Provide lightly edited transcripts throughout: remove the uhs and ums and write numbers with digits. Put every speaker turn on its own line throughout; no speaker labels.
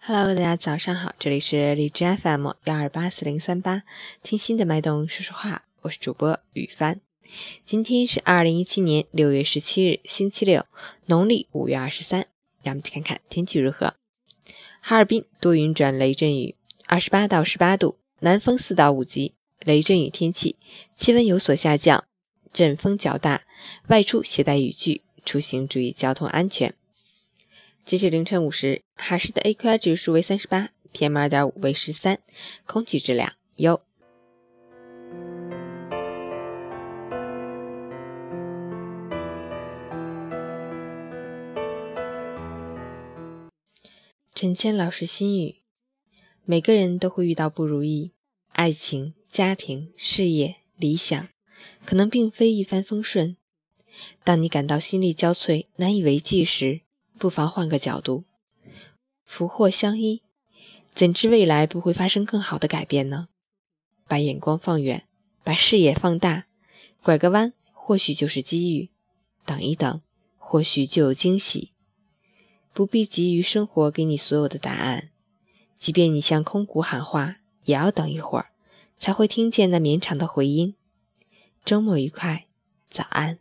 Hello， 大家早上好，这里是荔枝 FM1284038，听心的脉动说说话，我是主播雨帆。今天是2017年6月17日，星期六，农历5月23，让我们去看看天气如何。哈尔滨多云转雷阵雨，28到18度，南风4到5级，雷阵雨天气，气温有所下降，阵风较大，外出携带雨具，出行注意交通安全。截至凌晨5时，哈市的 AQI 指数为38， PM2.5 为13，空气质量优。陈谦老师心语：每个人都会遇到不如意，爱情、家庭、事业、理想，可能并非一帆风顺。当你感到心力交瘁、难以为继时，不妨换个角度，福祸相依，怎知未来不会发生更好的改变呢？把眼光放远，把视野放大，拐个弯或许就是机遇，等一等或许就有惊喜。不必急于生活给你所有的答案，即便你向空谷喊话，也要等一会儿才会听见那绵长的回音。周末愉快，早安。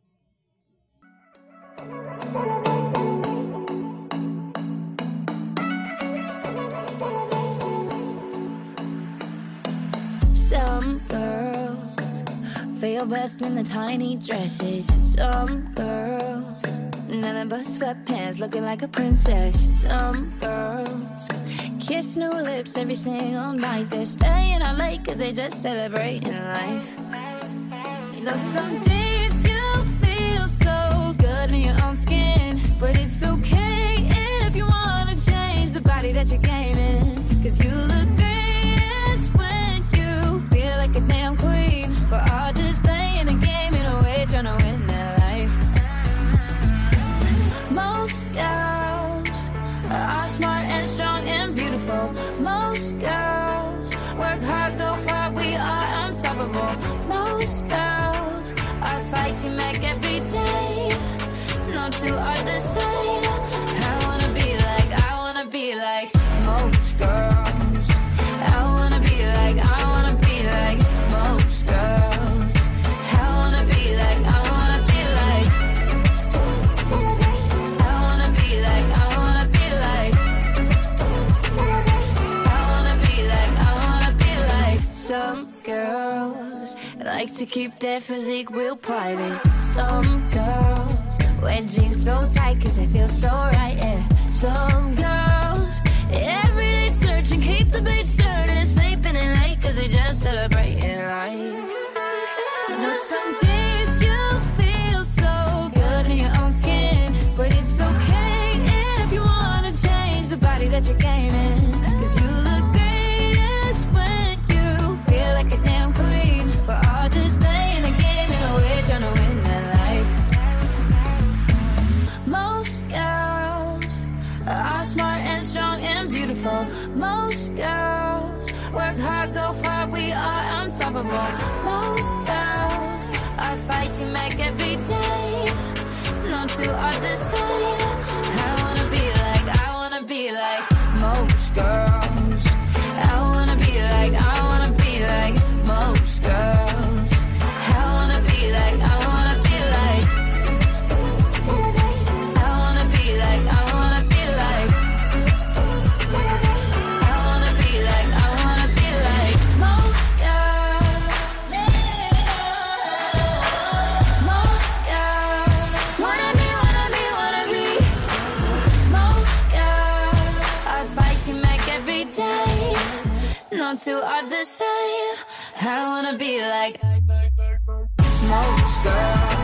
Some girls feel best in the tiny dresses. Some girls, nothing but sweatpants, looking like a princess. Some girls kiss new lips every single night. They're staying out late cause they just celebrating life. You know some days you feel so good in your own skin, but it's okay if you wanna change the body that you're gaming. Cause you look greatest when you feel like a damn queen. We're all just playing a game in a way, trying to win that life. Most girls are smart and strong and beautiful. Most girls work hard, go far, we are unstoppable. Most girls are fighting back every day. No two are the same. I wanna be like most girls. I wanna be like most girls. I wanna be like I wanna be like some girls like to keep their physique real private. Some girls wear jeans so tight cause they feel so right, yeah. Some girls every day searching, keep the beach turning, sleeping in late cause they just celebrating life. You know some days you feel so good in your own skin, but it's okay if you wanna change the body that you're gaming. Cause you look greatest when you feel like a damn queen. We're all just playing a game in a way, trying to win that life. Most girls are smart and strong and beautiful. Most girls work hard, go far, we are unstoppable. Most girls are fighting back every day. No two are the same. I wanna be like most girls. I wanna be like most girls. I wanna be like no two are the same. I wanna be like most girls.